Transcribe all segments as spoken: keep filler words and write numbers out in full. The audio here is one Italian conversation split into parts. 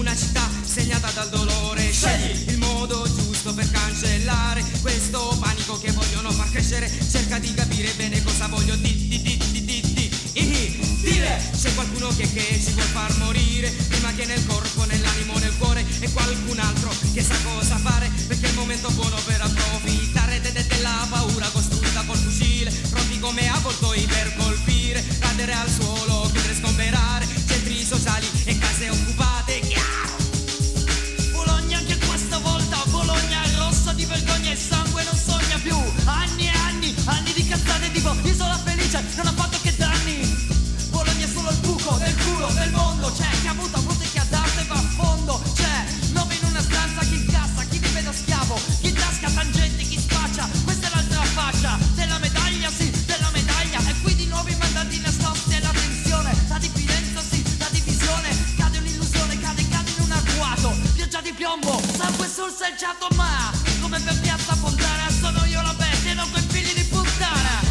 una città segnata dal dolore. Scegli il modo giusto per cancellare questo panico che vogliono far crescere. Cerca di capire bene cosa voglio di, di, di, di, di, di, di, dire. C'è qualcuno che, che ci vuol far morire, prima che nel corpo, nell'animo, nel cuore, e qualcun altro che sa cosa fare, perché è il momento buono per approfittare de, de, della paura costruita col fucile, pronti come avvoltoi per colpire, cadere al suolo, chiudere, sgomberare centri sociali e case occupate. Chiaro! Bologna anche questa volta, Bologna rossa di vergogna e sangue, non sogna più. Anni e anni, anni di cazzate tipo isola felice, non ha fatto che danni. Bologna è solo il buco del culo del mondo. C'è chi ha avuto avuto e chi ha dato e va a fondo. C'è nove in una stanza, chi incassa, chi vive da schiavo, chi tasca tangenti, chi spaccia. Questa è l'altra faccia della medaglia, sì, della medaglia. E qui di nuovo i mandanti nascosti e la tensione, la diffidenza, sì, la divisione. Cade un'illusione, cade, cade in un agguato, pioggia di piombo, sangue sul selciato. Ma come per piazza Fontana sono io la bestia e non quei figli di puttana.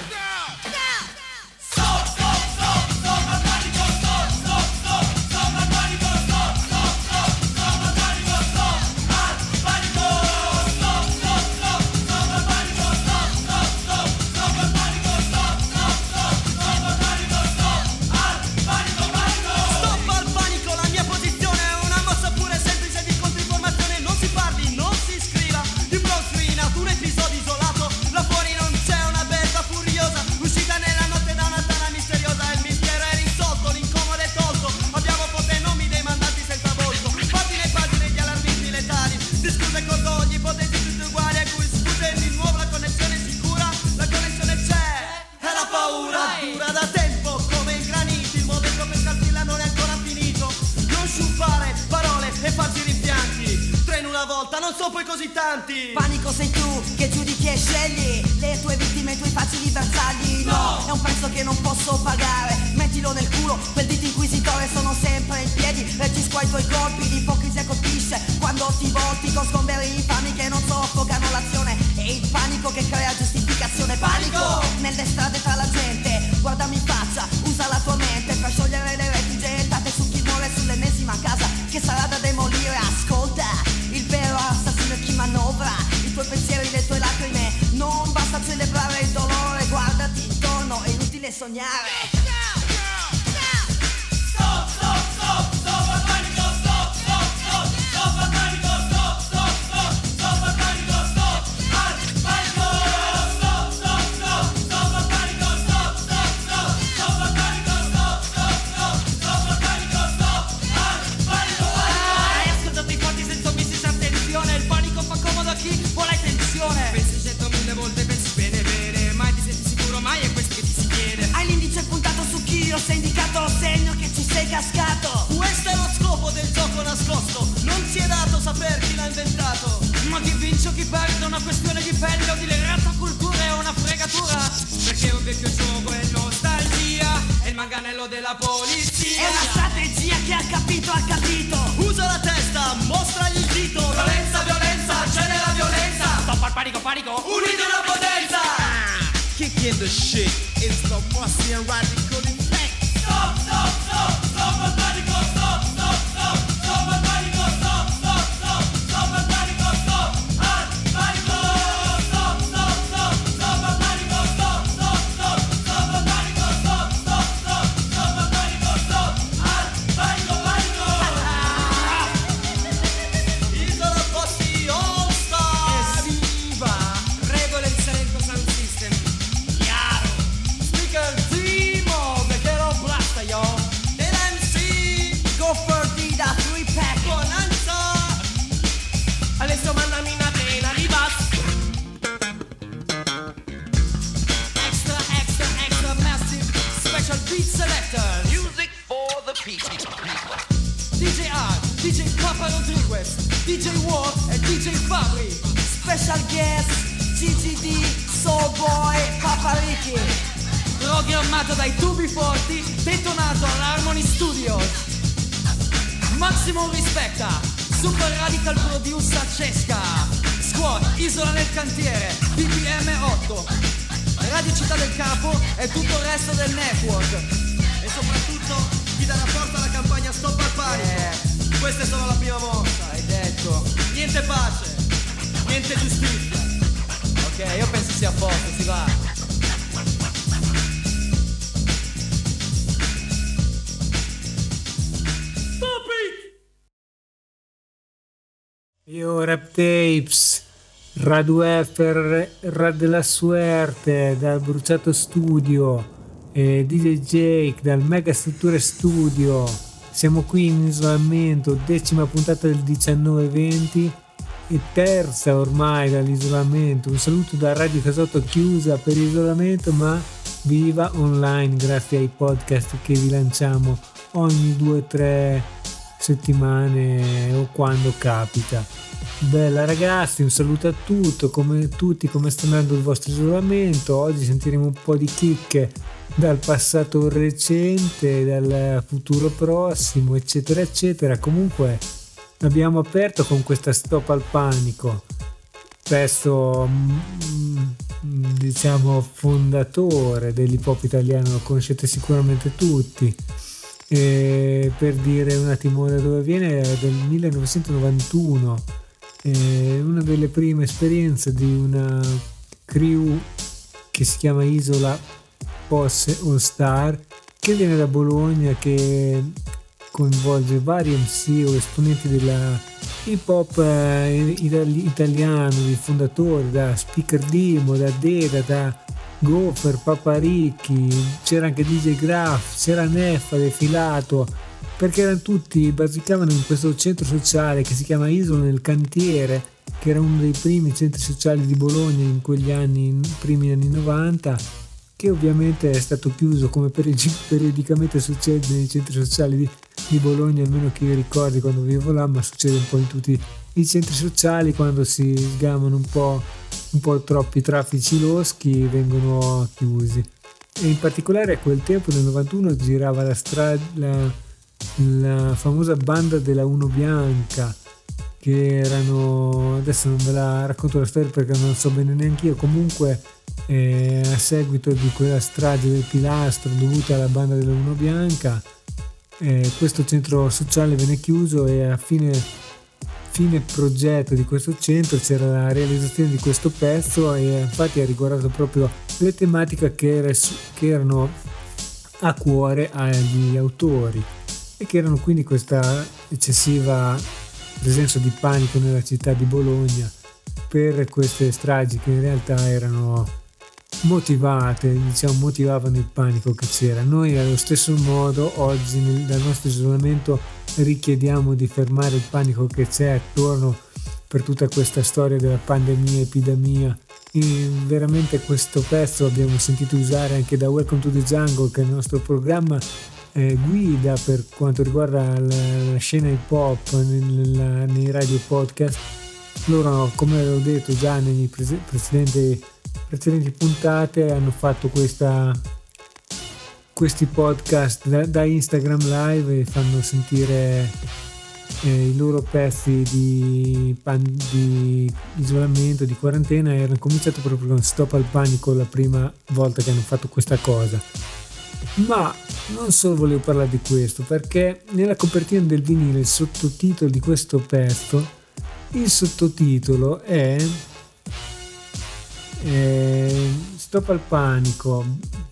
Non sono poi così tanti. Panico sei tu che giudichi e scegli le tue vittime, i tuoi facili bersagli. No, è un prezzo che non posso pagare. Mettilo nel culo, quel dito inquisitore. Sono sempre in piedi, reagisco ai tuoi colpi. L'ipocrisia colpisce quando ti volti con sgomberi infami che non soffocano l'azione. E il panico che crea giustificazione. Panico nelle strade tra la gente. Guardami in faccia, usa la tua mente per sciogliere le reti gettate su chi muore sull'ennesima casa che sarà da demolire. Ascolta, il vero assassino è chi manovra i tuoi pensieri, le tue lacrime. Non basta celebrare il dolore, guardati intorno, è inutile sognare. Stop, stop, stop, stop al panico, stop, stop, stop, stop al panico, stop, stop, stop, stop al panico, stop, al panico, stop, stop, stop, stop al panico, stop, stop, stop, stop al panico, stop, stop, stop, stop al panico, stop, al panico, panico. Ascoltati forti senza missis, attenzione, il panico fa comodo a chi vuole tensione. Pensi centomila volte, pensi bene bene, mai ti senti sicuro, mai è questo che ti si chiede. Hai l'indice puntato su chi, lo sei indicato, segno che ci sei cascato. Questo è lo scopo del gioco nascosto, non si è dato saper chi l'ha inventato. Ma chi vince o chi perde è una questione di pelle o di lerata cultura, è una fregatura. Perché è un vecchio gioco, è nostalgia, è il manganello della polizia. È una strategia che ha capito, ha capito. Usa la testa, mostragli il dito. Violenza, violenza, c'è nella violenza. Stop al panico, panico, Unite una potenza. Kick in the shit, it's the Marcy and Radical Effect. stop, stop, stop, stop al panico, stop, stop, stop, stop al panico, stop, stop, stop, stop al panico, stop, al panico, stop, stop, stop, stop al panico, stop, stop, stop, stop al panico, stop, stop, stop, stop al panico, stop, al panico, panico. Isola Fossi All Star. Esiva, regole di Salento Sound System. Chiaro. Speaker Timo, perché lo blasta yo. Dell'M C, Go for the da three pack. Bonanza. Adesso mandami una pena di bass. Extra, extra, extra massive special beat selector. Music for the people. D J R, D J Papa Rodriguez, D J War e D J Fabri. Special guest G G D, Soul Boy, Papa Ricky. Programmato dai tubi forti, detonato all'Harmony Studios. Maximum rispetta, Super Radical Producer Cesca, Squad, Isola nel cantiere, B P M otto, Radio Città del Capo e tutto il resto del network. E soprattutto chi dà la forza alla campagna Stop al Panico. Eh. questa è solo la prima mossa, hai detto. Niente pace, niente giustizia. Ok, io penso sia a posto, si va. Stop it! Io Rap Tapes, Radio Effer, Radio della Suerte, dal Bruciato Studio, e D J Jake dal Mega Strutture Studio. Siamo qui in isolamento, decima puntata del diciannove venti e terza ormai dall'isolamento. Un saluto da Radio Casotto, chiusa per isolamento ma viva online grazie ai podcast che vi lanciamo ogni due o tre settimane o quando capita. Bella ragazzi, un saluto a tutto, come tutti, come sta andando il vostro isolamento? Oggi sentiremo un po' di chicche dal passato recente, dal futuro prossimo, eccetera eccetera. Comunque abbiamo aperto con questa Stop al panico, pezzo diciamo fondatore dell'hip hop italiano, lo conoscete sicuramente tutti. E per dire un attimo da dove viene, è del millenovecentonovantuno, è una delle prime esperienze di una crew che si chiama Isola Posse All Star, che viene da Bologna, che coinvolge vari M C o esponenti della hip hop eh, italiano, di fondatori, da Speaker Dimo, da Deda, da Gopher, Paparicchi, c'era anche D J Graf, c'era Neffa defilato, perché erano tutti, basicavano in questo centro sociale che si chiama Isola nel Cantiere, che era uno dei primi centri sociali di Bologna in quegli anni, primi anni novanta, che ovviamente è stato chiuso, come periodicamente succede nei centri sociali di, di Bologna, almeno che io ricordi quando vivo là, ma succede un po' in tutti i centri sociali, quando si sgamano un po', un po' troppi traffici loschi vengono chiusi. E in particolare a quel tempo, nel novantuno, girava la, stra- la, la famosa banda della Uno Bianca, che erano, adesso non ve la racconto la storia perché non so bene neanche io, comunque eh, a seguito di quella strage del Pilastro dovuta alla banda della Uno Bianca, eh, questo centro sociale venne chiuso e a fine, fine progetto di questo centro c'era la realizzazione di questo pezzo, e infatti ha riguardato proprio le tematiche che, era, che erano a cuore agli autori e che erano quindi questa eccessiva presenza di panico nella città di Bologna per queste stragi che in realtà erano motivate, diciamo motivavano il panico che c'era. Noi allo stesso modo oggi nel, dal nostro isolamento richiediamo di fermare il panico che c'è attorno per tutta questa storia della pandemia, epidemia. E veramente questo pezzo abbiamo sentito usare anche da Welcome to the Jungle, che è il nostro programma eh, guida per quanto riguarda la, la scena hip hop nel, nei radio podcast. Loro, come ho detto già negli pre- precedenti, precedenti puntate, hanno fatto questa, questi podcast da, da Instagram Live e fanno sentire eh, i loro pezzi di, pan, di isolamento, di quarantena, e hanno cominciato proprio con Stop al panico la prima volta che hanno fatto questa cosa. Ma non solo volevo parlare di questo, perché nella copertina del vinile, il sottotitolo di questo pezzo, il sottotitolo è, è Stop al panico,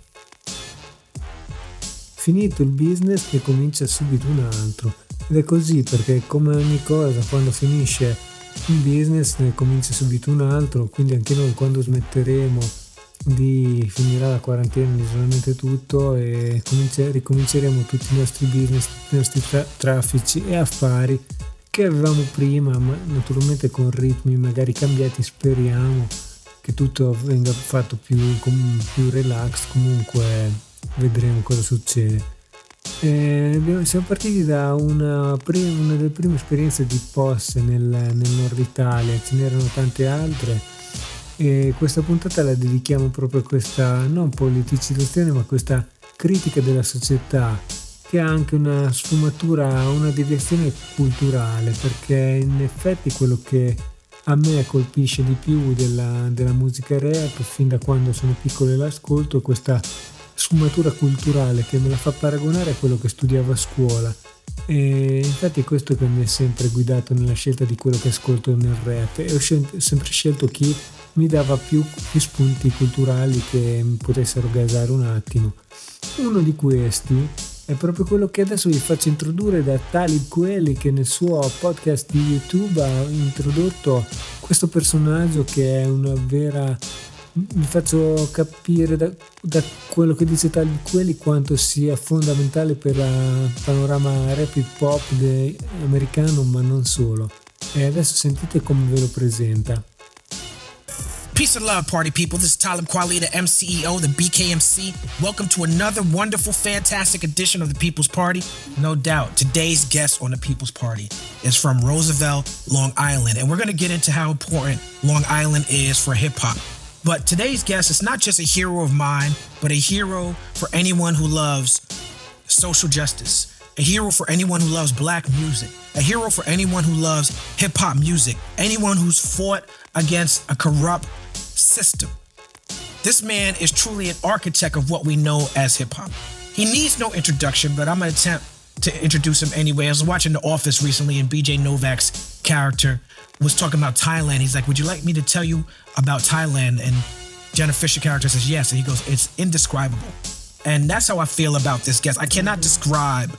finito il business che comincia subito un altro. Ed è così, perché come ogni cosa, quando finisce un business ne comincia subito un altro, quindi anche noi quando smetteremo di finirà la quarantena, l'isolamento e tutto, e cominci- ricominceremo tutti i nostri business, tutti i nostri tra- traffici e affari che avevamo prima, ma naturalmente con ritmi magari cambiati. Speriamo che tutto venga fatto più, com- più relax, comunque vedremo cosa succede. Eh, siamo partiti da una, prima, una delle prime esperienze di Posse nel, nel nord Italia, ce n'erano tante altre, e questa puntata la dedichiamo proprio a questa non politicizzazione ma questa critica della società, che ha anche una sfumatura, una deviazione culturale, perché in effetti quello che a me colpisce di più della, della musica rap, fin da quando sono piccolo e l'ascolto, è questa sfumatura culturale che me la fa paragonare a quello che studiavo a scuola, e infatti è questo che mi ha sempre guidato nella scelta di quello che ascolto nel rap, e ho scel- sempre scelto chi mi dava più, più spunti culturali che mi potessero gasare un attimo. Uno di questi è proprio quello che adesso vi faccio introdurre da Talib Kweli, che nel suo podcast di YouTube ha introdotto questo personaggio che è una vera... Vi faccio capire da, da quello che dice Talib Kweli quanto sia fondamentale per il panorama rap hip hop de, americano, ma non solo. E adesso sentite come ve lo presenta. Peace and love, party people. This is Talib Kweli, the M C E O, the B K M C. Welcome to another wonderful, fantastic edition of the People's Party. No doubt, today's guest on the People's Party is from Roosevelt, Long Island. And we're going to get into how important Long Island is for hip-hop. But today's guest is not just a hero of mine, but a hero for anyone who loves social justice. A hero for anyone who loves black music. A hero for anyone who loves hip-hop music. Anyone who's fought against a corrupt system. This man is truly an architect of what we know as hip-hop. He needs no introduction, but I'm going to attempt to introduce him anyway. I was watching The Office recently, and B J Novak's character was talking about Thailand. He's like, would you like me to tell you about Thailand? And Jenna Fisher character says yes, and he goes, it's indescribable. And that's how I feel about this guest. I cannot describe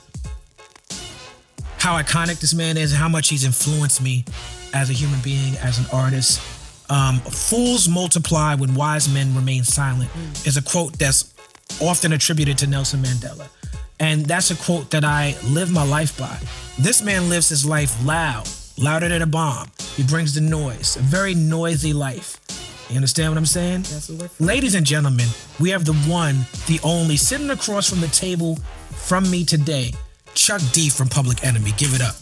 how iconic this man is and how much he's influenced me as a human being, as an artist. Um, Fools multiply when wise men remain silent is a quote that's often attributed to Nelson Mandela. And that's a quote that I live my life by. This man lives his life loud, louder than a bomb. He brings the noise, a very noisy life. You understand what I'm saying? Ladies and gentlemen, we have the one, the only, sitting across from the table from me today, Chuck D from Public Enemy. Give it up.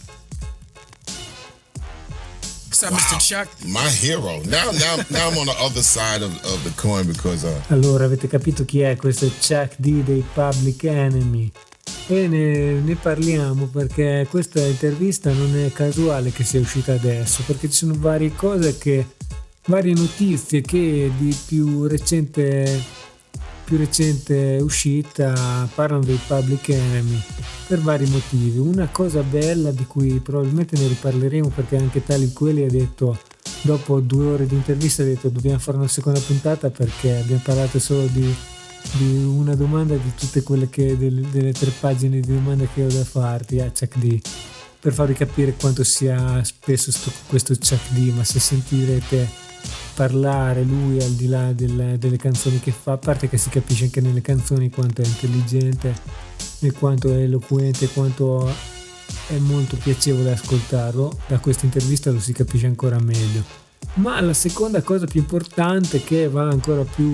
What's up, wow. Mister Chuck? My hero. Now, now, now I'm on the other side of, of the coin because. Uh... Allora, avete capito chi è? Questo è Chuck D dei Public Enemy. E ne, ne parliamo perché questa intervista non è casuale che sia uscita adesso, perché ci sono varie cose che, varie notizie che di più recente, più recente uscita parlano dei Public Enemy per vari motivi. Una cosa bella di cui probabilmente ne riparleremo, perché anche Talib Kweli ha detto, dopo due ore di intervista, ha detto dobbiamo fare una seconda puntata perché abbiamo parlato solo di di una domanda di tutte quelle che delle, delle tre pagine di domande che ho da farti a Chuck D, per farvi capire quanto sia spesso sto, questo Chuck D. Ma se sentirete parlare lui al di là del, delle canzoni che fa, a parte che si capisce anche nelle canzoni quanto è intelligente e quanto è eloquente, quanto è molto piacevole ascoltarlo, da questa intervista lo si capisce ancora meglio. Ma la seconda cosa più importante, che va ancora più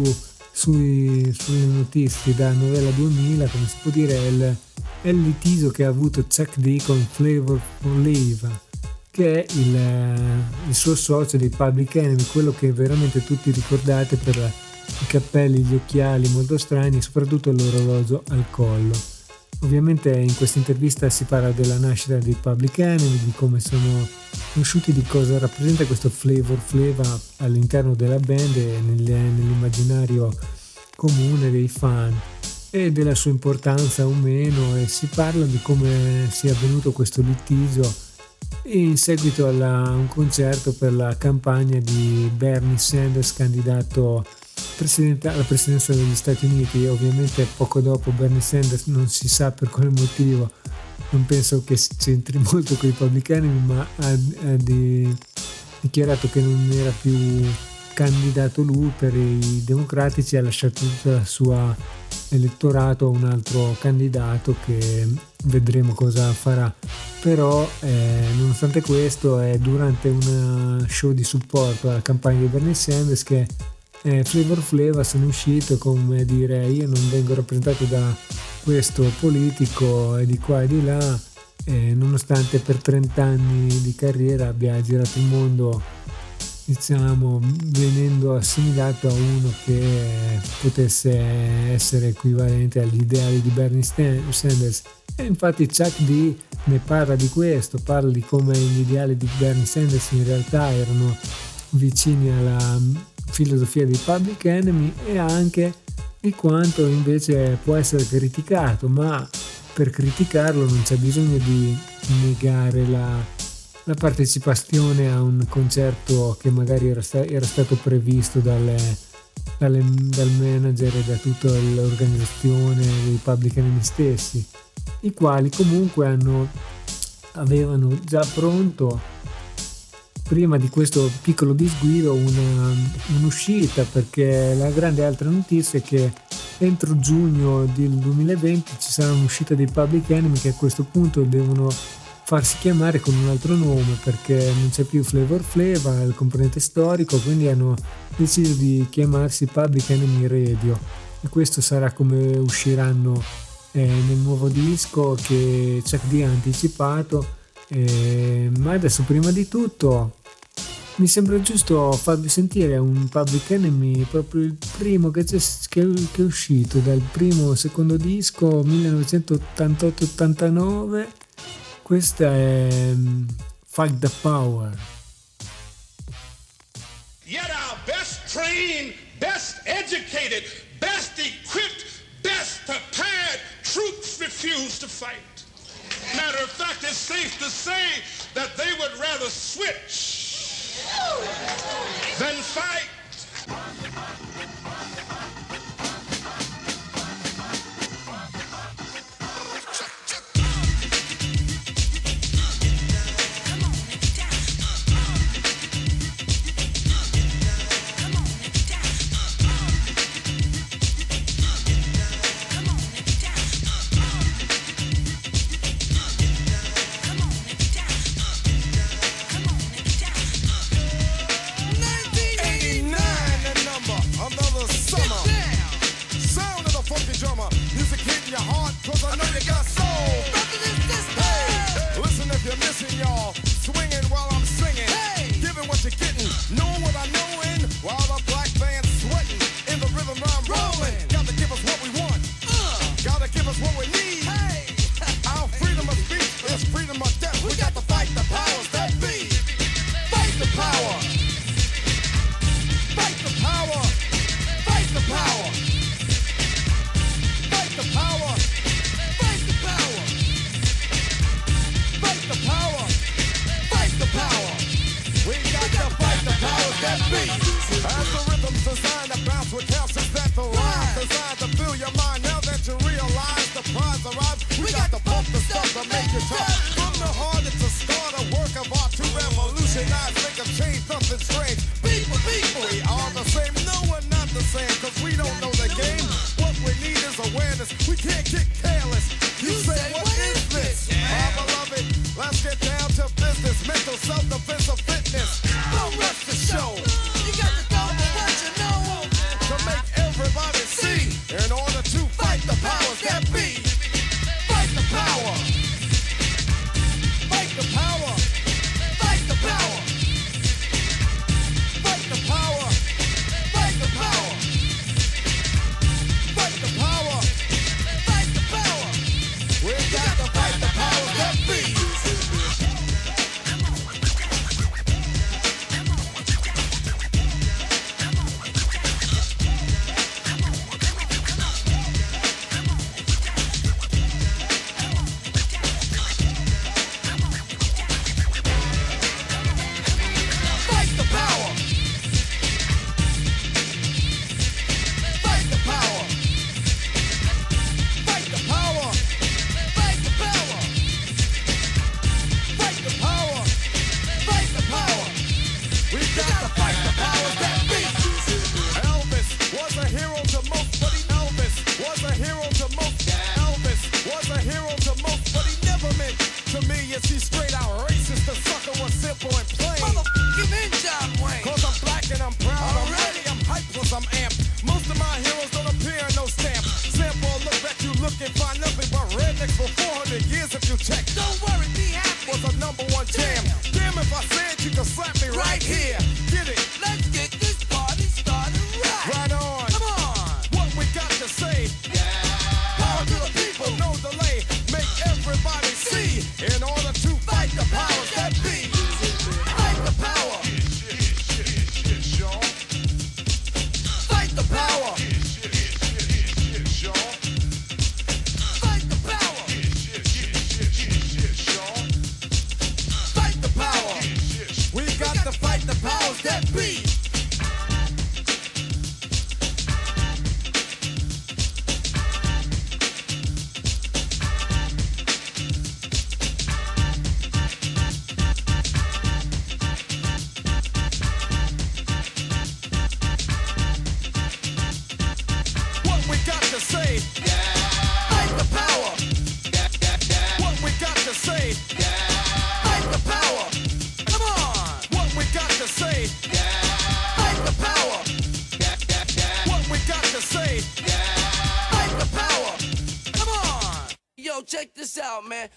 Sui, sulle notizie da Novella duemila, come si può dire, è il, è il litigio che ha avuto Chuck D con Flavor Flav, che è il, il suo socio dei Public Enemy, quello che veramente tutti ricordate per i capelli, gli occhiali molto strani e soprattutto l'orologio al collo. Ovviamente in questa intervista si parla della nascita dei Public Enemy, di come sono conosciuti, di cosa rappresenta questo Flavor Flav all'interno della band e nell'immaginario comune dei fan, e della sua importanza o meno, e si parla di come sia avvenuto questo litigio in seguito alla, a un concerto per la campagna di Bernie Sanders, candidato alla presidenza degli Stati Uniti. Ovviamente poco dopo Bernie Sanders, non si sa per quale motivo, non penso che si c'entri molto con i Public Enemy, ma ha, ha di, dichiarato che non era più candidato lui per i democratici, ha lasciato tutto il suo elettorato a un altro candidato che vedremo cosa farà. Però eh, nonostante questo, è durante un show di supporto alla campagna di Bernie Sanders che eh, Flavor Flav sono uscito come dire: io non vengo rappresentato da questo politico e di qua e di là, eh, nonostante per trenta anni di carriera abbia girato il mondo, diciamo, venendo assimilato a uno che potesse essere equivalente agli ideali di Bernie Sanders. E infatti Chuck D ne parla di questo, parla di come gli ideali di Bernie Sanders in realtà erano vicini alla filosofia dei Public Enemy, e anche di quanto invece può essere criticato, ma per criticarlo non c'è bisogno di negare la, la partecipazione a un concerto che magari era, sta, era stato previsto dalle, dalle, dal manager e da tutta l'organizzazione dei Public Enemy stessi, i quali comunque hanno, avevano già pronto prima di questo piccolo disguido una, un'uscita, perché la grande altra notizia è che entro giugno del duemilaventi ci sarà un'uscita dei Public Enemy, che a questo punto devono farsi chiamare con un altro nome perché non c'è più Flavor Flava, il componente storico, quindi hanno deciso di chiamarsi Public Enemy Radio, e questo sarà come usciranno eh, nel nuovo disco che Chuck D ha anticipato. Eh, ma adesso prima di tutto mi sembra giusto farvi sentire un Public Enemy, proprio il primo che, c'è, che, che è uscito dal primo secondo disco millenovecentottantotto ottantanove. Questa è um, Fight the Power. Yet our best trained, best educated, best equipped, best prepared troops refuse to fight. Matter of fact, it's safe to say that they would rather switch than fight.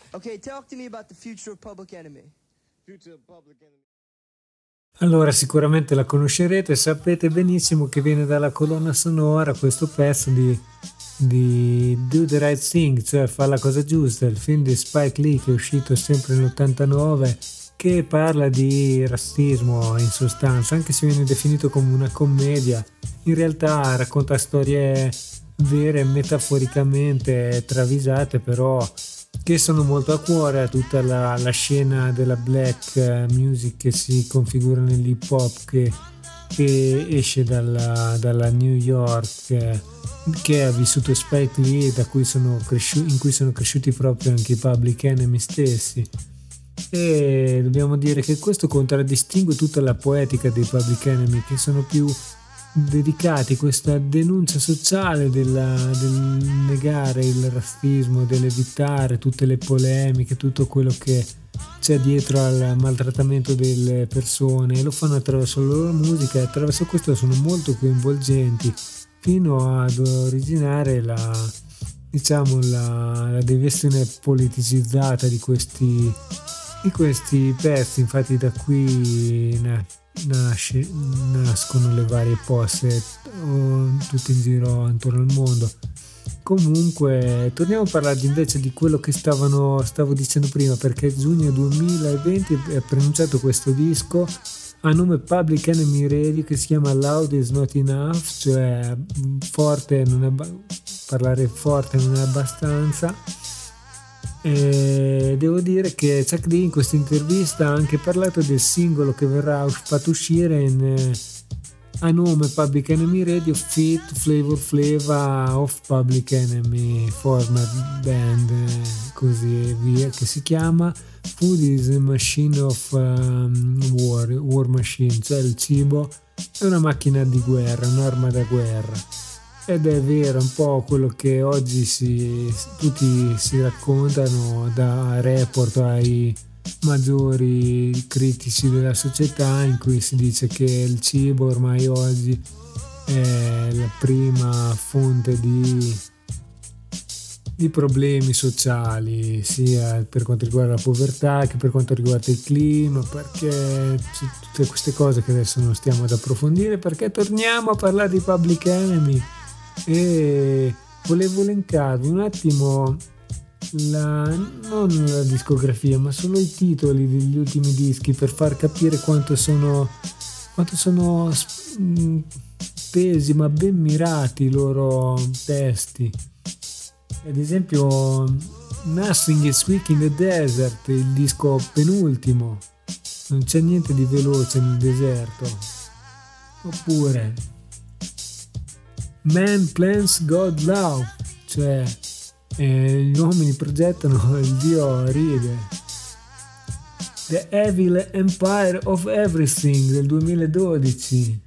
Okay, talk to me about the future of Public Enemy. Future of Public Enemy. Allora, sicuramente la conoscerete, sapete benissimo che viene dalla colonna sonora questo pezzo di, di Do the Right Thing, cioè Fa la cosa giusta, il film di Spike Lee che è uscito sempre nell'ottantanove, che parla di razzismo in sostanza, anche se viene definito come una commedia, in realtà racconta storie vere, metaforicamente travisate, però che sono molto a cuore a tutta la, la scena della black music che si configura nell'hip hop che, che esce dalla, dalla New York, che ha vissuto Spike Lee, da cui sono cresciuti, in cui sono cresciuti proprio anche i Public Enemy stessi. E dobbiamo dire che questo contraddistingue tutta la poetica dei Public Enemy, che sono più dedicati a questa denuncia sociale della, del negare il razzismo, dell'evitare tutte le polemiche, tutto quello che c'è dietro al maltrattamento delle persone, e lo fanno attraverso la loro musica, e attraverso questo sono molto coinvolgenti, fino ad originare la, diciamo, la, la deviazione politicizzata di questi, di questi pezzi. Infatti da qui na, nasce, nascono le varie poste tutte in giro intorno al mondo. Comunque torniamo a parlare invece di quello che stavano, stavo dicendo prima, perché giugno duemilaventi è pronunciato questo disco a nome Public Enemy Radio, che si chiama Loud is Not Enough, cioè forte non è, parlare forte non è abbastanza. E devo dire che Chuck D in questa intervista ha anche parlato del singolo che verrà fatto uscire in, a nome Public Enemy Radio Fit Flavor Flava of Public Enemy Format Band, così via, che si chiama Food is a Machine of um, War, War Machine, cioè il cibo è una macchina di guerra, un'arma da guerra. Ed è vero, un po' quello che oggi si, tutti si raccontano, da report ai maggiori critici della società, in cui si dice che il cibo ormai oggi è la prima fonte di, di problemi sociali, sia per quanto riguarda la povertà che per quanto riguarda il clima, perché tutte queste cose che adesso non stiamo ad approfondire, perché torniamo a parlare di Public Enemy. E volevo elencarvi un attimo la, non la discografia, ma solo i titoli degli ultimi dischi, per far capire quanto sono quanto sono pesi ma ben mirati i loro testi. Ad esempio Nothing is Weak in the Desert, il disco penultimo, non c'è niente di veloce nel deserto. Oppure Man Plans God Love, cioè eh, gli uomini progettano, il Dio ride. The Evil Empire of Everything del duemiladodici.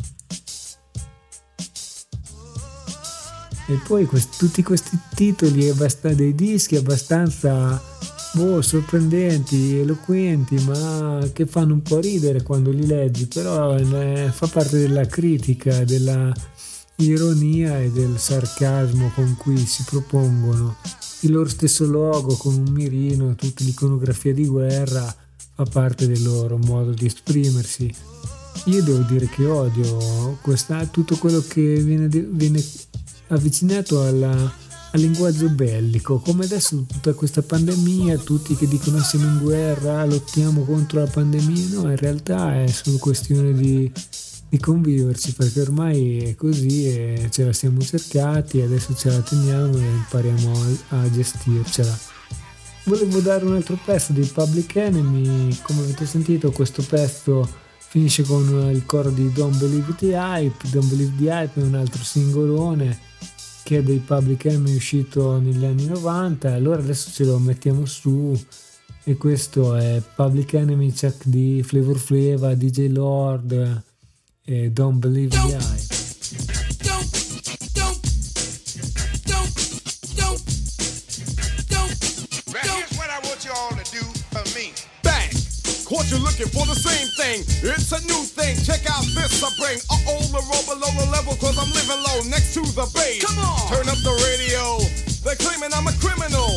E poi questi, tutti questi titoli dei dischi abbastanza boh, sorprendenti, eloquenti, ma che fanno un po' ridere quando li leggi, però eh, fa parte della critica, della ironia e del sarcasmo con cui si propongono. Il loro stesso logo con un mirino, tutta l'iconografia di guerra fa parte del loro modo di esprimersi. Io devo dire che odio questa, tutto quello che viene, viene avvicinato alla, al linguaggio bellico, come adesso tutta questa pandemia, tutti che dicono siamo in guerra, lottiamo contro la pandemia. No, in realtà è solo questione di di conviverci, perché ormai è così e ce la siamo cercati, adesso ce la teniamo e impariamo a, a gestircela. Volevo dare un altro pezzo dei Public Enemy. Come avete sentito, questo pezzo finisce con il coro di Don't Believe the Hype. Don't Believe the Hype è un altro singolone che è dei Public Enemy, uscito negli anni novanta, allora adesso ce lo mettiamo su. E questo è Public Enemy, Chuck D, Flavor Flava, D J Lord e Don't Believe the Hype. Don't, don't, don't, don't, don't, right, here's what I want you all to do for me. Bang! Caught you looking for the same thing. It's a new thing. Check out this I bring. Uh-oh, the roll below the level, cause I'm living low next to the base. Come on! Turn up the radio. They're claiming I'm a criminal.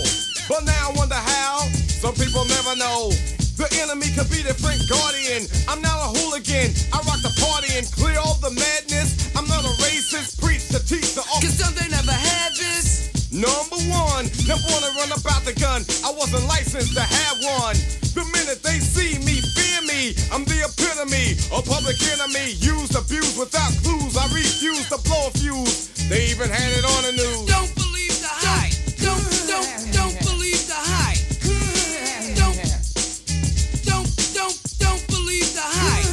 But now I wonder how. Some people never know. The enemy could be the Frank Guardian. I'm not a hooligan. I rock the party and clear all the madness. I'm not a racist. Preach to teach the all. Cause some they never had this. Number one, never wanna run about the gun. I wasn't licensed to have one. The minute they see me, fear me. I'm the epitome, a public enemy. Used, abused without clues. I refuse to blow a fuse. They even had it on the news. Don't believe the hype. Don't, don't, don't believe the hype. Don't, don't, don't, don't believe the hype.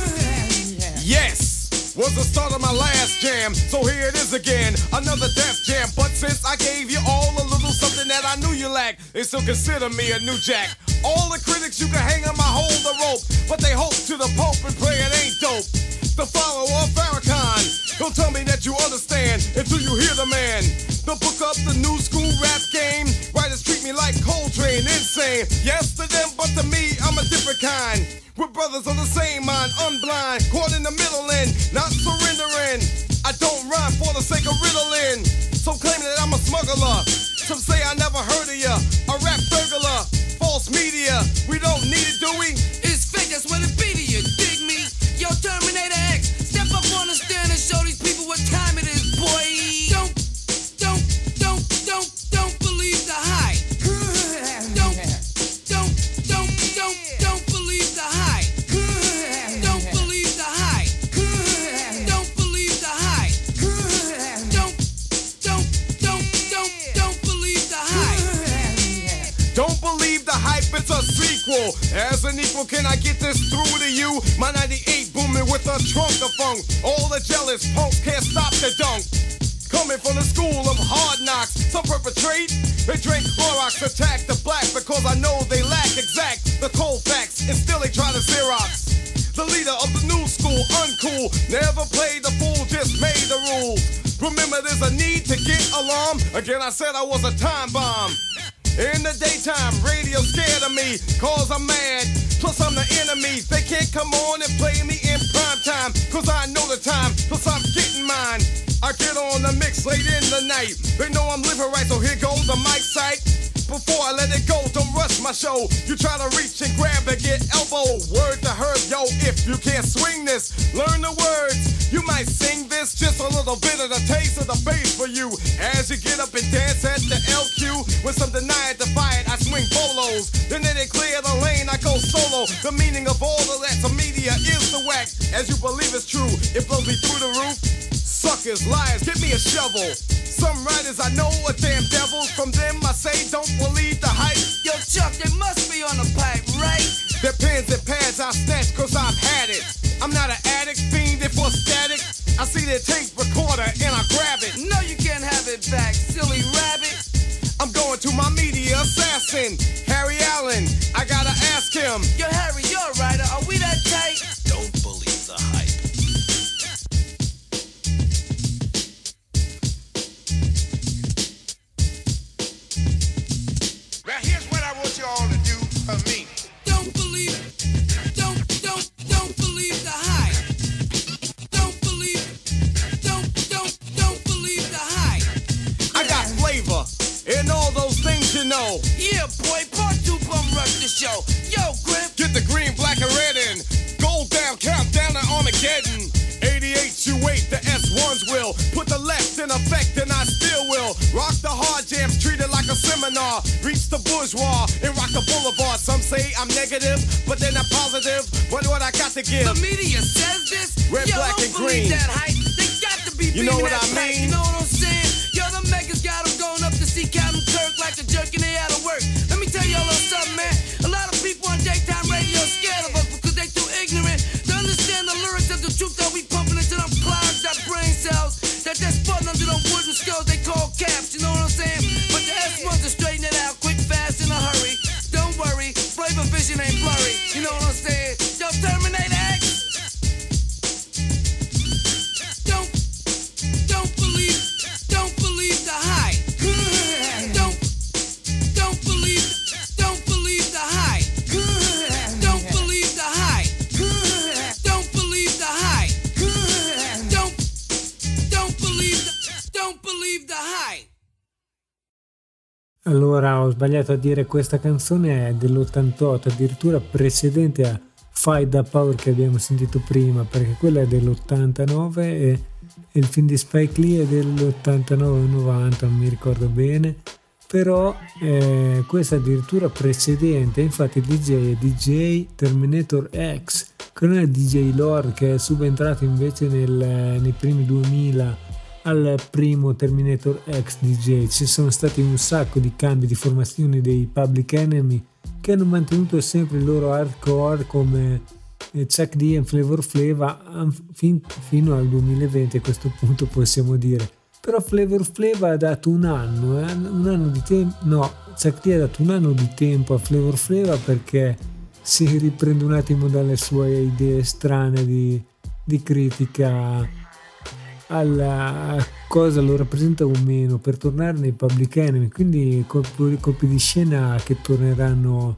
Yes, was the start of my last jam. So here it is again, another death jam. But since I gave you all a little something that I knew you lacked, they still consider me a new jack. All the critics you can hang on my hold the rope, but they hope to the Pope and pray it ain't dope. The follower of Farrakhan, don't tell me that you understand until you hear the man. The book up the new school rap game. Writers treat me like Coltrane, insane. Yes to them, but to me, I'm a different kind. We're brothers of the same mind, unblind, caught in the middle and not surrendering. I don't rhyme for the sake of riddling. Some claim that I'm a smuggler. Some say I never heard of ya. A rap burglar, false media. We don't need it, do we? It's fake, that's what it be to you. Dig me? Yo, Terminator X, step up on the stand and show these people what time it is, boy. Don't, don't, don't, don't, don't believe the hype. Don't, don't, don't, don't, don't believe the hype. Don't believe the hype. Don't believe the hype. Don't, don't, don't, don't, don't believe the hype. Don't believe the hype, it's a sequel. As an equal, can I get this through to you? My ninety-eight booming with a trunk of funk. All the jealous punks can't stop the dunk. Coming from the school of hard knocks, some perpetrate. They drink Clorox, attack the black because I know they lack exact the cold facts, and still they try to Xerox. The leader of the new school, uncool, never played the fool, just made the rules. Remember, there's a need to get alarm. Again, I said I was a time bomb. In the daytime, radio scared of me, cause I'm mad. Plus I'm the enemy, they can't come on and play me in prime time, cause I know the time, plus I'm getting mine. I get on the mix late in the night. They know I'm living right, so here goes the mic sight. Before I let it go, don't rush my show. You try to reach and grab and get elbow. Word to Herb, yo, if you can't swing this, learn the words. You might sing this, just a little bit of the taste of the bass for you. As you get up and dance at the L Q, with some deny it, defy it, I swing bolos. Then they clear the lane, I go solo. The meaning of all of that to media is the whack. As you believe it's true, it blows me through the roof. Suckers, liars, give me a shovel. Some writers I know are damn devils. From them I say don't believe the hype. Yo, Chuck, they must be on the pipe, right? Their pens and pads I snatch cause I've had it. I'm not an addict, fiending for static. I see their tape recorder and I grab it. No, you can't have it back, silly rabbit. I'm going to my media assassin, Harry Allen. I gotta ask him. Yo, Harry, you're a writer. Are we that tight? Don't believe the hype. Now here's what I want you all to do for me. Don't believe, don't, don't, don't believe the hype. Don't believe, don't, don't, don't believe the hype. I got flavor and all those things you know. Yeah, boy, part two bum rush the show. Yo, Griff. Get the green, black, and red in. Gold down, countdown to Armageddon. eighty-eight, you wait, the S ones will. Put the left in effect and I still will. Rock the hard jams, treat it like a seminar. Reach the bourgeois and rock the boulevard. Some say I'm negative, but they're not positive. What what I got to give? The media says this. Red, Yo, black, don't and believe green. that hype. They got to be You know beaming what that I pipe, mean? You know what I'm saying? Yo, the megas got them going up to see Captain Kirk like a jerk and they out of work. Let me tell y'all a little something, man. A lot of people on daytime radio are scared of us because they too ignorant to understand the lyrics of the truth that we pumping into them clouds, that brain cells, that they're sputting under them wooden skulls they call caps, you know what I'm saying? But the S ones to straighten it out quick, fast, in a hurry. Don't worry, flavor vision ain't blurry, you know what I'm saying? Yo, Terminator X. Don't, don't believe, don't believe the hype. Don't, don't believe, don't believe the hype. Allora, ho sbagliato a dire, questa canzone è dell'ottantotto, addirittura precedente a Fight the Power che abbiamo sentito prima, perché quella è dell'ottantanove e, e il film di Spike Lee è dell'ottantanove novanta, non mi ricordo bene, però eh, questa è addirittura precedente. Infatti il D J è D J Terminator X, che non è D J Lord, che è subentrato invece nel, nei primi duemila al primo Terminator X D J. Ci sono stati un sacco di cambi di formazione dei Public Enemy, che hanno mantenuto sempre il loro hardcore come Chuck D e Flavor Flav fin, fino al duemilaventi, a questo punto possiamo dire. Però Flavor Flav ha dato un anno, eh? un anno di tempo, no, Chuck D ha dato un anno di tempo a Flavor Flav perché si riprende un attimo dalle sue idee strane di, di critica alla cosa lo rappresenta o meno, per tornare nei Public Enemy. Quindi colpi, colpi di scena che torneranno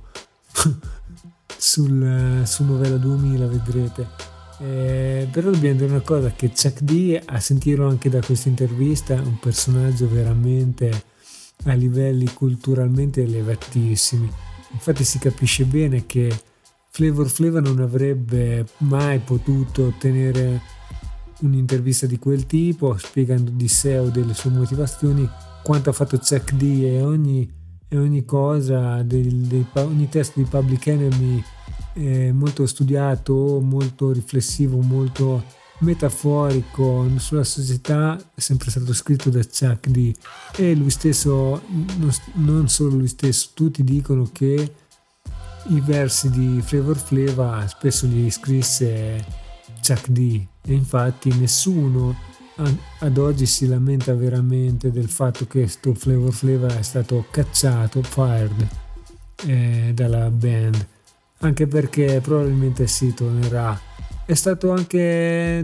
sul, su Novella duemila, vedrete. Eh, però dobbiamo dire una cosa, che Chuck D, a sentirlo anche da questa intervista, è un personaggio veramente a livelli culturalmente elevatissimi. Infatti si capisce bene che Flavor Flav non avrebbe mai potuto ottenere un'intervista di quel tipo spiegando di sé o delle sue motivazioni quanto ha fatto Chuck D, e ogni, e ogni cosa del, dei, ogni testo di Public Enemy è molto studiato, molto riflessivo, molto metaforico sulla società, è sempre stato scritto da Chuck D. E lui stesso, non, non solo lui stesso, tutti dicono che i versi di Flavor Flav spesso li scrisse Chuck D, e infatti nessuno ad oggi si lamenta veramente del fatto che sto Flavor Flav è stato cacciato, fired eh, dalla band, anche perché probabilmente si tornerà. È stato anche eh,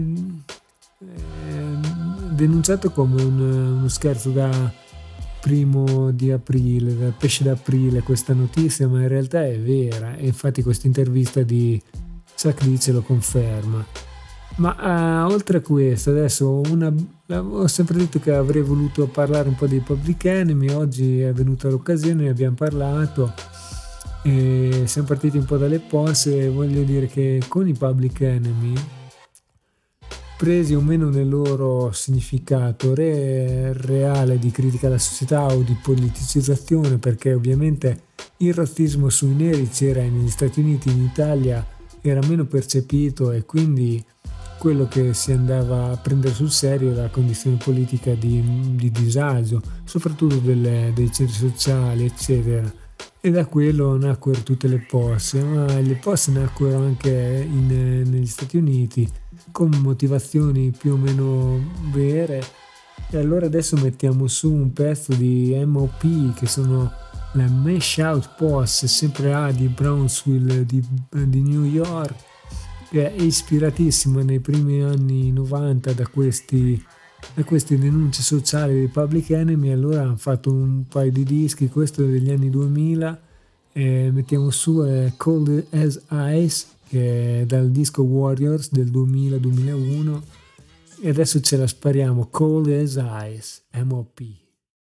denunciato come un, uno scherzo da primo di aprile, dal pesce d'aprile, questa notizia, ma in realtà è vera, e infatti questa intervista di Chuck D ce lo conferma. Ma uh, oltre a questo, adesso una, ho sempre detto che avrei voluto parlare un po' dei Public Enemy, oggi è venuta l'occasione, ne abbiamo parlato e siamo partiti un po' dalle posse, e voglio dire che con i Public Enemy, presi o meno nel loro significato re, reale di critica alla società o di politicizzazione, perché ovviamente il razzismo sui neri c'era negli Stati Uniti, in Italia era meno percepito, e quindi quello che si andava a prendere sul serio era la condizione politica di, di disagio, soprattutto delle, dei centri sociali, eccetera. E da quello nacquero tutte le posse, ma le posse nacquero anche in, negli Stati Uniti con motivazioni più o meno vere. E allora adesso mettiamo su un pezzo di M O P, che sono la Mash Out Posse, sempre A di Brownsville di, di New York, che è ispiratissima nei primi anni novanta da questi, da queste denunce sociali dei Public Enemy. Allora hanno fatto un paio di dischi, questo è degli anni duemila, e mettiamo su è Cold as Ice, che è dal disco Warriors del duemila duemilauno, e adesso ce la spariamo, Cold as Ice, M O P.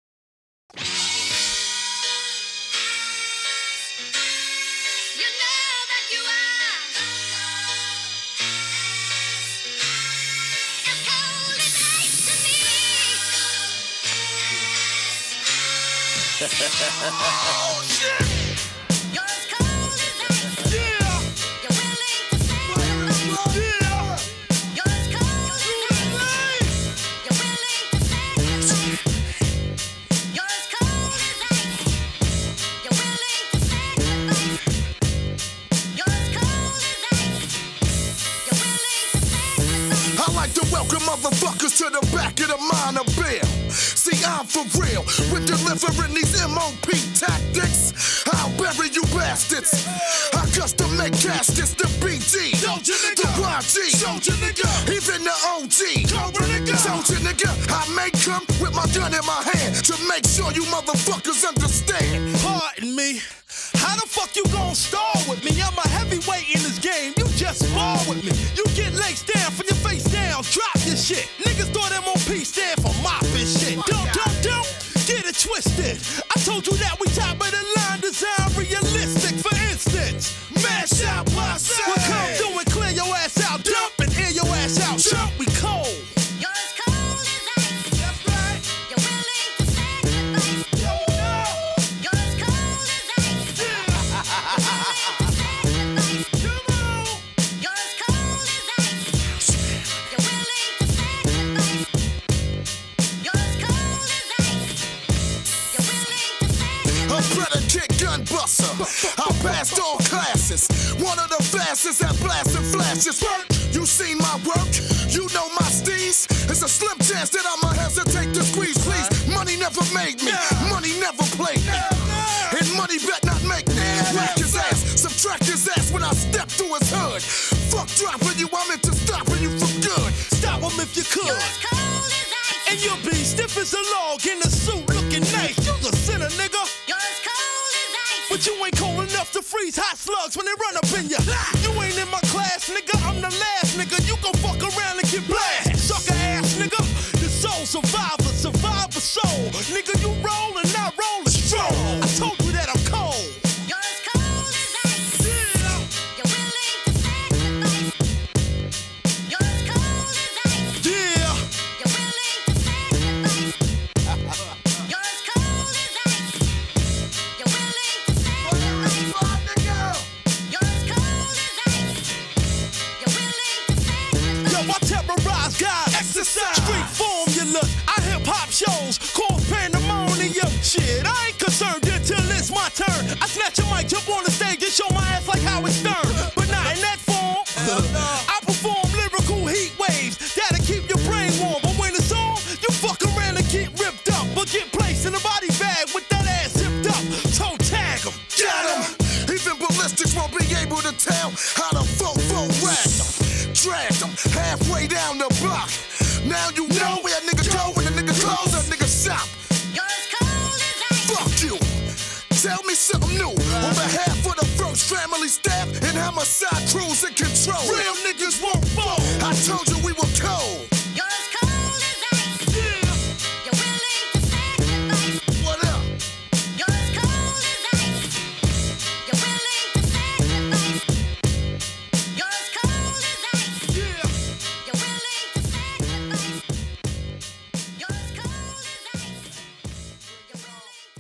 Oh shit! You're as cold as ice. Yeah. You're willing to sacrifice. Yeah. You're as cold as ice. You're willing to sacrifice. You're as cold as ice. You're willing to sacrifice. You're as cold as ice. You're willing to sacrifice. I like to welcome motherfuckers to the back of the minor bill. See, I'm for real with delivering these M O P tactics. I'll bury you bastards. I custom make caskets, the B G, the Y G, even the O G, soldier nigga. I make come with my gun in my hand to make sure you motherfuckers understand. Pardon me. How the fuck you gon' stall with me? I'm a heavyweight in this game. You just spar with me. You get legs down from your face down. Drop your shit. Niggas thought M O P stand for mop and shit. Don't, don't, don't get it twisted. I told you that gun buster. I passed all classes, one of the fastest at blasting flashes. You seen my work, you know my steez. It's a slim chance that I'ma hesitate to squeeze, please. Money never made me, money never played me, and money bet not make me. Whack his ass, subtract his ass when I step through his hood. Fuck dropping you, I'm into stopping you for good. Stop him if you could. And you'll be stiff as a log in a suit looking nice. You's a sinner, nigga. You're as cold as ice. But you ain't cold enough to freeze hot slugs when they run up in ya. You ain't in my class, nigga. I'm the last, nigga. You gon' fuck around and get blasted. Sucker ass, nigga. The soul survivor, survivor soul. Nigga, you roll and I roll a stroll. I told you that I'm cold. You're as cold as ice. Yeah. You're willing to sacrifice. You're as cold as ice. Yeah. You're willing to sacrifice. You're as cold as ice. You're willing to sacrifice. You're as cold as ice. You're willing to sacrifice. Yo, I terrorize God, exercise, street formulas. I hip hop shows, cause pandemonium. Shit, I ain't concerned until it's my turn. I snatch a mic, jump on the stage and show my ass like Howard Stern. But not in that form. I perform lyrical heat waves that'll keep your brain warm. But when it's on, you fuck around and get ripped up. But get placed in a body bag with that ass zipped up. Toe tag 'em, got 'em. Even ballistics won't be able to tell how the fofo ragged 'em. Dragged 'em halfway down the block. Now you know where a nigga go when a nigga close a nigga shop. You're as cold as ice. Fuck you. Tell me something new. On behalf of the first family staff and homicide crews in control. Real niggas won't fall. I told you we were cold. You're as cold as ice. Yeah. You're willing to sacrifice. What up? You're as cold as ice. You're willing to sacrifice. You're as cold as ice. Yeah. You're willing to sacrifice. You're as cold as ice. You're willing to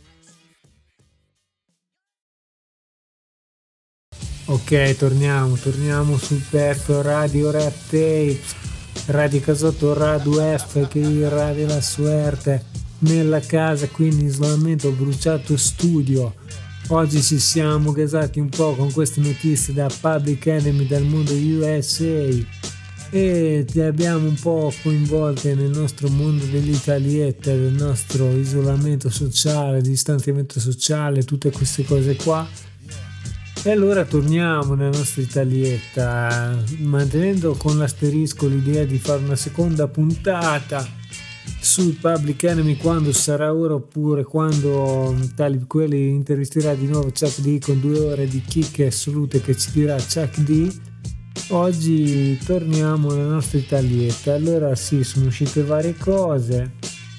Ok, torniamo, torniamo sul pezzo Radio Rap Tapes, Radio Casotto, Radio F, che il Radio La Suerte, nella casa, quindi in isolamento, ho bruciato studio. Oggi ci siamo gasati un po' con queste notizie da Public Enemy, dal mondo U S A, e ti abbiamo un po' coinvolte nel nostro mondo dell'Italietta, del nostro isolamento sociale, distanziamento sociale, tutte queste cose qua. E allora torniamo nella nostra Italietta, mantenendo con l'asterisco l'idea di fare una seconda puntata sul Public Enemy quando sarà ora, oppure quando Talib Kweli intervisterà di nuovo Chuck D con due ore di chicche assolute che ci dirà Chuck D. Oggi torniamo nella nostra Italietta. Allora sì, sono uscite varie cose.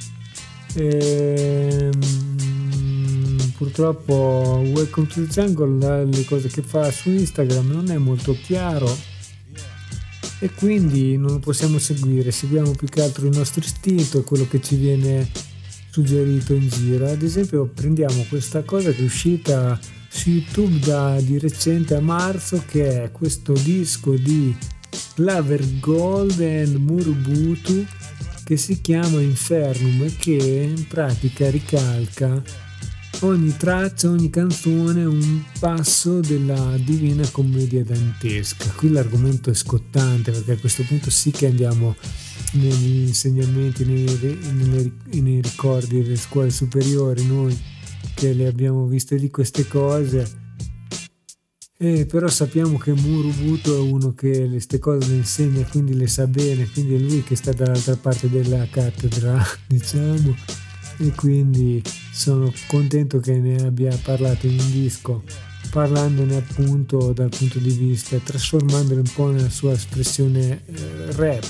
Ehm... Purtroppo Welcome to the Jungle, le cose che fa su Instagram non è molto chiaro e quindi non lo possiamo seguire, seguiamo più che altro il nostro istinto e quello che ci viene suggerito in giro. Ad esempio prendiamo questa cosa che è uscita su YouTube da, di recente a marzo, che è questo disco di Claver Gold e Murubutu che si chiama Infernum e che in pratica ricalca ogni traccia, ogni canzone un passo della Divina Commedia dantesca. Qui l'argomento è scottante, perché a questo punto sì che andiamo negli insegnamenti, nei, nei, nei ricordi delle scuole superiori, noi che le abbiamo viste lì queste cose, e però sappiamo che Murubutu è uno che queste cose le insegna, quindi le sa bene, quindi è lui che sta dall'altra parte della cattedra, diciamo, e quindi sono contento che ne abbia parlato in un disco, parlandone appunto dal punto di vista, trasformandolo un po' nella sua espressione eh, rap.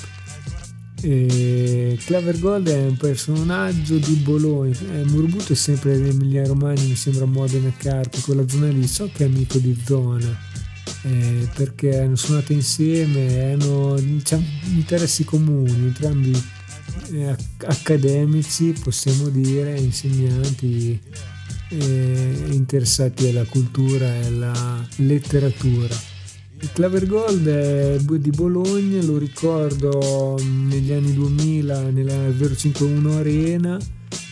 E Claver Gold è un personaggio di Bologna, eh, Murubutu è sempre dell'Emilia Romagna, mi sembra Modena Carpi, quella zona lì. So che è amico di zona, eh, perché hanno suonato insieme, hanno, diciamo, interessi comuni, entrambi eh, accademici, possiamo dire, insegnanti, eh, interessati alla cultura e alla letteratura. Il Claver Gold è di Bologna, lo ricordo negli anni duemila nella zero cinquantuno Arena,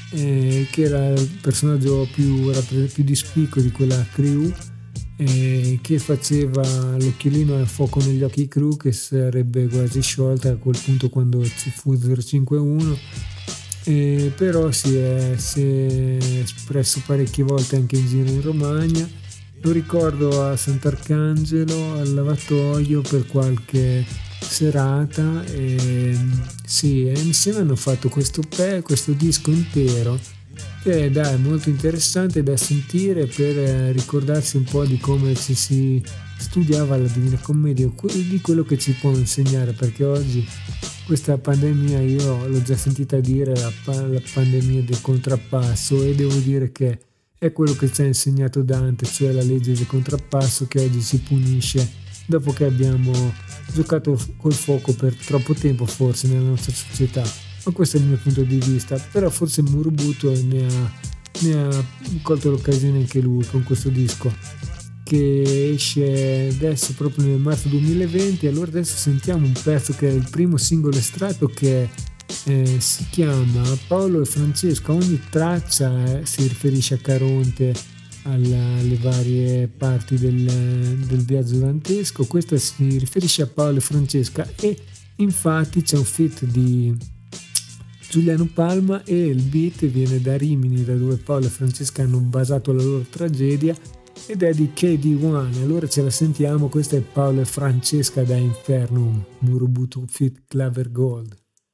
eh, che era il personaggio più, più dispicuo di quella crew, eh, che faceva l'occhiolino al fuoco negli occhi crew, che sarebbe quasi sciolta a quel punto quando ci fu zero cinque uno, eh, però si è, si è espresso parecchie volte anche in giro in Romagna. Lo ricordo a Sant'Arcangelo al lavatoio per qualche serata, e sì, e insieme hanno fatto questo, pe- questo disco intero che è dai, molto interessante da sentire per ricordarsi un po' di come ci si studiava la Divina Commedia, di quello che ci può insegnare, perché oggi questa pandemia io l'ho già sentita dire, la, pa- la pandemia del contrappasso, e devo dire che è quello che ci ha insegnato Dante, cioè la legge del contrappasso che oggi si punisce dopo che abbiamo giocato col fuoco per troppo tempo forse nella nostra società. Ma questo è il mio punto di vista, però forse Murubuto ne ha, ne ha colto l'occasione anche lui con questo disco che esce adesso proprio nel marzo duemilaventi. Allora adesso sentiamo un pezzo che è il primo singolo estratto, che eh, si chiama Paolo e Francesca. Ogni traccia eh, si riferisce a Caronte, alla, alle varie parti del, del viaggio dantesco. Questa si riferisce a Paolo e Francesca, e infatti c'è un feat di Giuliano Palma e il beat viene da Rimini, da dove Paolo e Francesca hanno basato la loro tragedia, ed è di K D uno. Allora ce la sentiamo, questa è Paolo e Francesca da Infernum, Murubutu feat Claver Gold.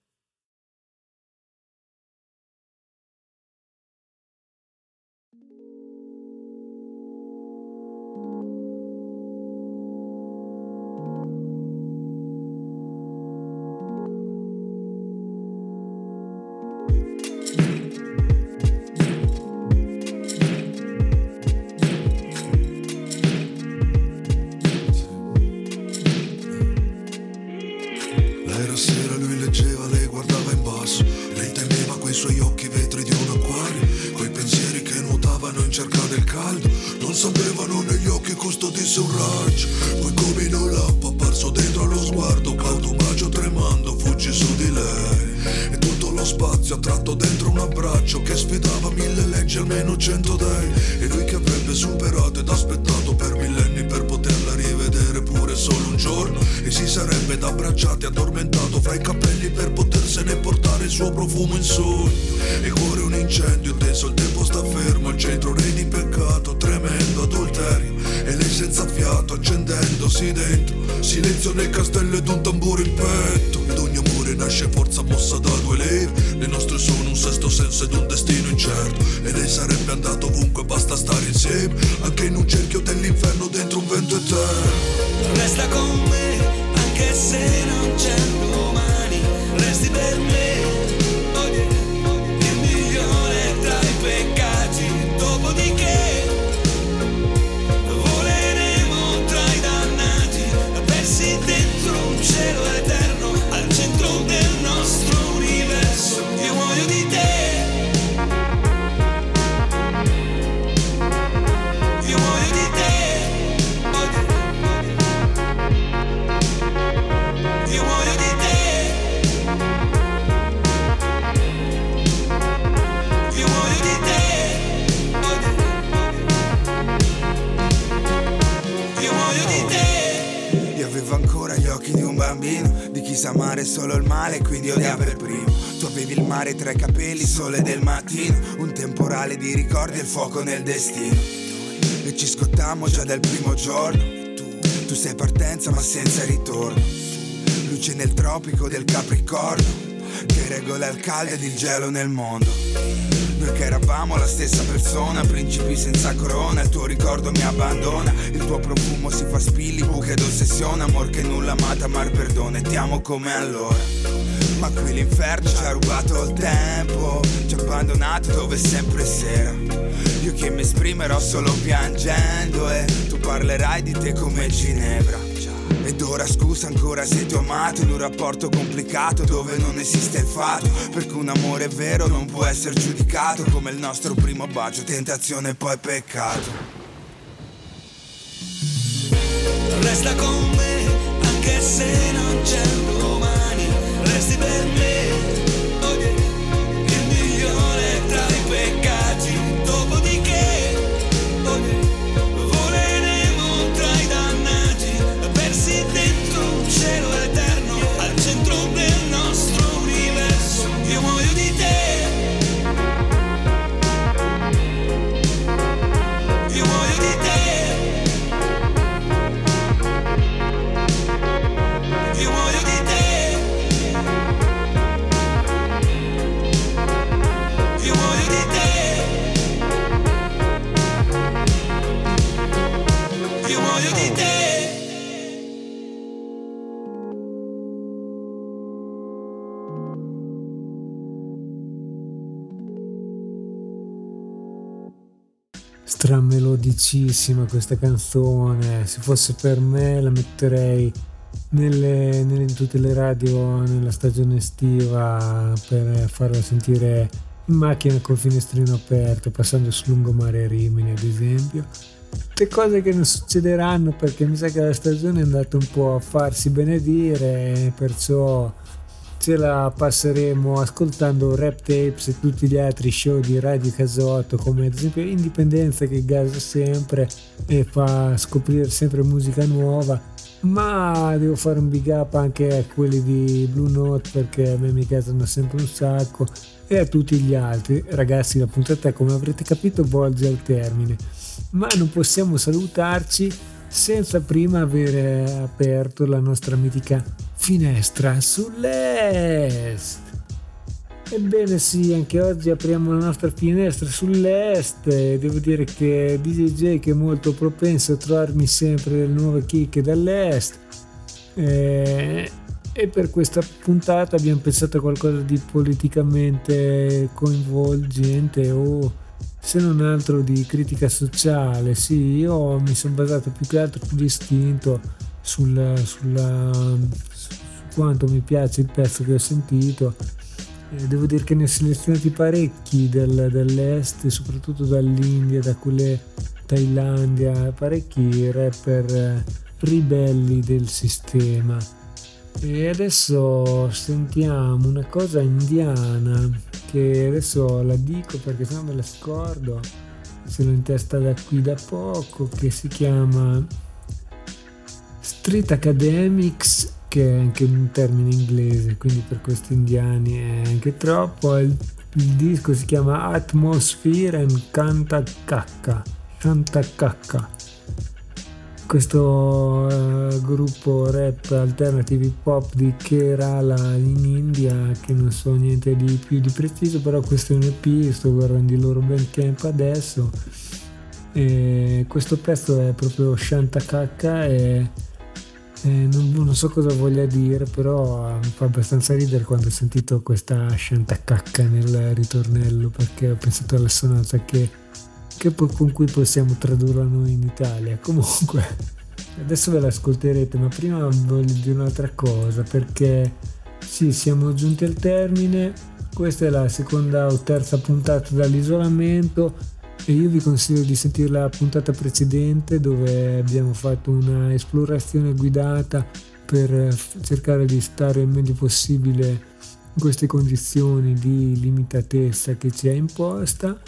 Nel castello ed un tamburo in petto, ed ogni amore nasce forza mossa da due leve. Le nostre sono un sesto senso ed un destino incerto, e lei sarebbe andato ovunque, basta stare insieme, anche in un cerchio dell'inferno dentro un vento eterno. Resta con me, anche se non c'è domani, resti per me, oh yeah, il migliore tra i peccati, dopodiché dentro un cielo eterno, al centro del nostro universo. Io muoio di te, io muoio di te, io muoio di te, io muoio di te, io muoio di te. Avevo ancora gli occhi di un bambino, di chi sa amare solo il male, quindi odia per primo. Tu avevi il mare tra i capelli, sole del mattino, un temporale di ricordi e il fuoco nel destino. E ci scottammo già dal primo giorno. Tu sei partenza ma senza ritorno. Luce nel tropico del Capricorno, che regola il caldo ed il gelo nel mondo. Noi che eravamo la stessa persona, principi senza corona, il tuo ricordo mi abbandona, il tuo profumo si fa spilli, buche d'ossessione, amor che nulla amata, mar perdono, e ti amo come allora. Ma qui l'inferno ci ha rubato il tempo, ci ha abbandonato dove è sempre sera. Io che mi esprimerò solo piangendo, e tu parlerai di te come Ginevra. Ed ora scusa ancora se ti ho amato in un rapporto complicato dove non esiste il fatto, perché un amore vero non può essere giudicato come il nostro primo bacio, tentazione e poi peccato. Resta con me, anche se non c'è domani, resti per me, oh yeah, il migliore tra stramelodicissima questa canzone. Se fosse per me la metterei nelle, nelle, in tutte le radio nella stagione estiva per farla sentire in macchina col finestrino aperto, passando sul lungomare Rimini ad esempio. Tutte cose che non succederanno perché mi sa che la stagione è andata un po' a farsi benedire, perciò ce la passeremo ascoltando Rap Tapes e tutti gli altri show di Radio Casotto, come ad esempio Indipendenza, che gasa sempre e fa scoprire sempre musica nuova. Ma devo fare un big up anche a quelli di Blue Note, perché a me mi casano sempre un sacco, e a tutti gli altri. Ragazzi, la puntata, come avrete capito, volge al termine, ma non possiamo salutarci senza prima avere aperto la nostra mitica finestra sull'est. Ebbene sì, anche oggi apriamo la nostra finestra sull'est e devo dire che D J J, che è molto propenso a trovarmi sempre le nuove chicche dall'est, e, e per questa puntata abbiamo pensato a qualcosa di politicamente coinvolgente o se non altro di critica sociale. Sì, io mi sono basato più che altro più distinto sul, sulla, su quanto mi piace il pezzo che ho sentito. Eh, devo dire che ne ho selezionati parecchi del, dell'est, soprattutto dall'India, da quelle Thailandia, parecchi rapper eh, ribelli del sistema. E adesso sentiamo una cosa indiana, che adesso la dico perché sennò me la scordo, se l'ho in testa da qui da poco, che si chiama Street Academics, che è anche un termine inglese, quindi per questi indiani è anche troppo. Il, il disco si chiama Atmosphere and Kanta Kakka, Kanta Kakka. Questo uh, gruppo rap alternative hip hop di Kerala in India, che non so niente di più di preciso, però questo è un E P, sto guardando il loro Bandcamp adesso, e questo pezzo è proprio Shanta Kakka e, e non, non so cosa voglia dire, però uh, mi fa abbastanza ridere quando ho sentito questa Shanta Kakka nel ritornello, perché ho pensato all'assonanza che che poi con cui possiamo tradurla noi in Italia. Comunque adesso ve l'ascolterete, ma prima voglio dire un'altra cosa, perché sì, siamo giunti al termine. Questa è la seconda o terza puntata dall'isolamento e io vi consiglio di sentire la puntata precedente, dove abbiamo fatto una esplorazione guidata per cercare di stare il meglio possibile in queste condizioni di limitatezza che ci è imposta.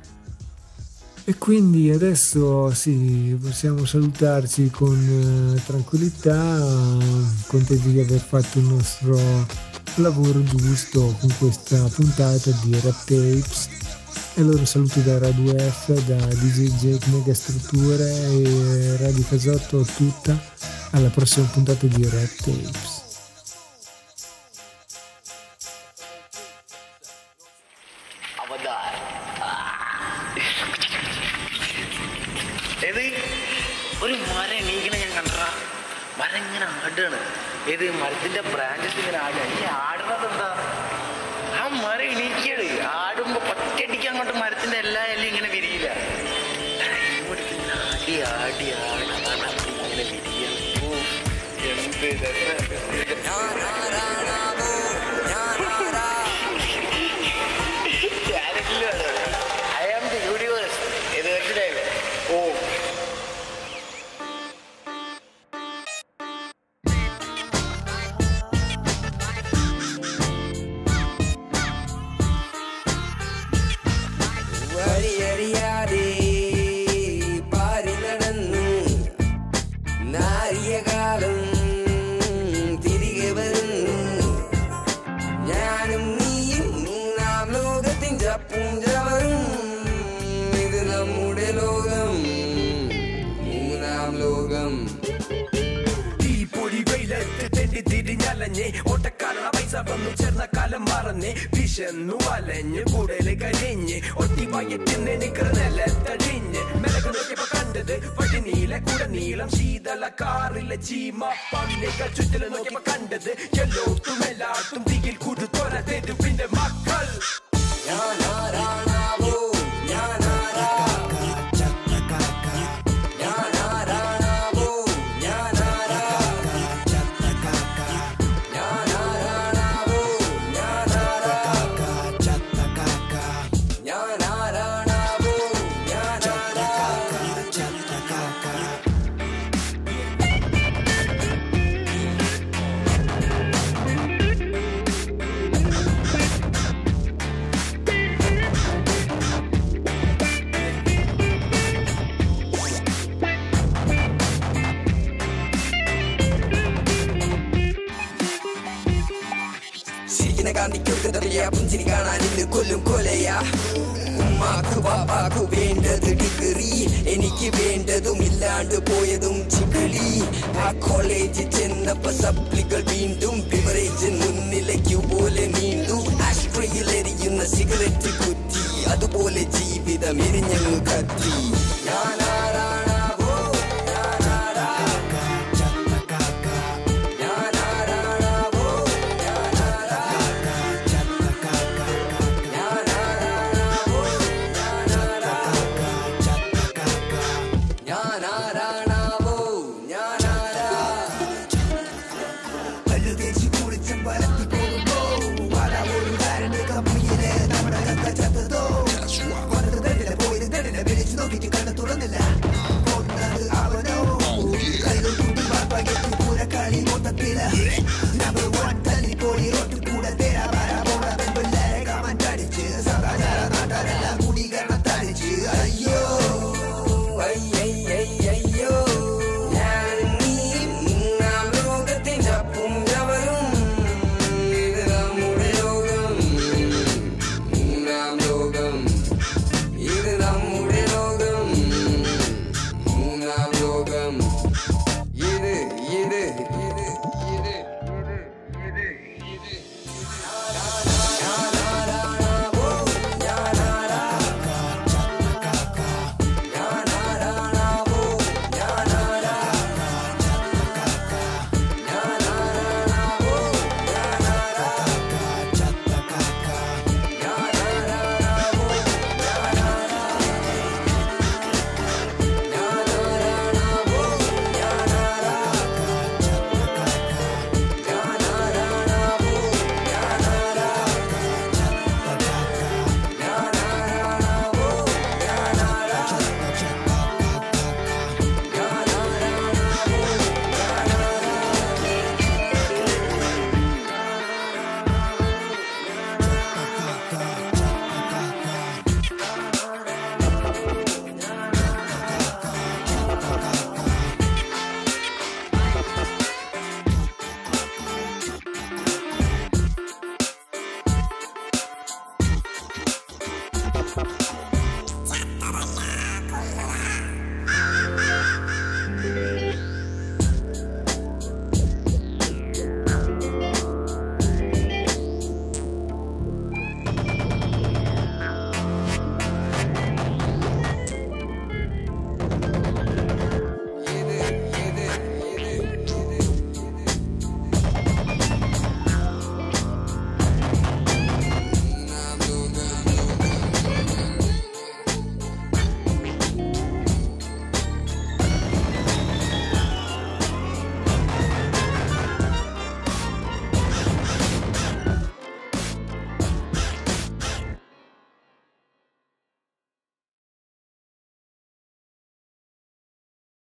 E quindi adesso sì, possiamo salutarci con eh, tranquillità, contenti di aver fatto il nostro lavoro giusto con questa puntata di Rap Tapes. E allora saluto da Radio F, da D J Jake Megastrutture e Radio Casotto tutta, alla prossima puntata di Rap Tapes. ഒരു മരം എണീക്കണ ഞാൻ കണ്ടാ, മരം ഇങ്ങനെ ആടാണ്. ഏത് മരത്തിന്റെ ബ്രാഞ്ചസ് ഇങ്ങനെ ആടുക. ഈ ആടുന്നത് എന്താ? ആ മരം എണീക്കട് ആടുമ്പോ പറ്റടിക്ക് അങ്ങോട്ട് മരത്തിന്റെ എല്ലാ എല്ലാം ഇങ്ങനെ വിരിയില്ല. ആടി ആടി ആടി ഇങ്ങനെ വിരിയാണ്. എന്ത് ഐ ആം ദി യൂണിവേഴ്സ്. ഇത് മനസ്സിലായില്ലേ? ഓ ഓട്ടക്കാലം പൈസ വന്നു ചേർന്ന കാലം മറന്നേ വിശന്നു വലഞ്ഞ് കൂടല് കഴിഞ്ഞ് ഒട്ടി വയറ്റിന്ന് നിക്കറ നിലത്തടിഞ്ഞ് മെലക്ക് നോക്കിയപ്പോ കണ്ടത് വഴിനീല കൂടെ നീളം ശീതള കാറിലെ ചീമ പന്നികൾ ചുറ്റില് നോക്കിയപ്പോ കണ്ടത് എല്ലോട്ടും എല്ലാട്ടും തീയിൽ കൊടുത്തോര തെരുവിന്റെ മക്കൾ. ഞാനാരാണാവോ ഞാനാരാ കാന്തിക്കൊക്കെ പുഞ്ചിരി കാണാൻ ഇന്ന് കൊല്ലും കൊലയാ. ഉമ്മാക്ക് പാപ്പാക്ക് വേണ്ടത് ഡിഗ്രി, എനിക്ക് വേണ്ടതും ഇല്ലാണ്ട് പോയതും ചികളി. ആ കോളേജിൽ ചെന്നപ്പോ സപ്ലികൾ വീണ്ടും ബിവറേജ് മുന്നിലേക്ക് പോലെ നീണ്ടു. ആസ്ട്രയിൽ എരിയുന്ന സിഗരറ്റ് കുറ്റി, അതുപോലെ ജീവിതം എരിഞ്ഞങ്ങ് കത്തി. ഞാനാരാണാവോ ഞാനാരാ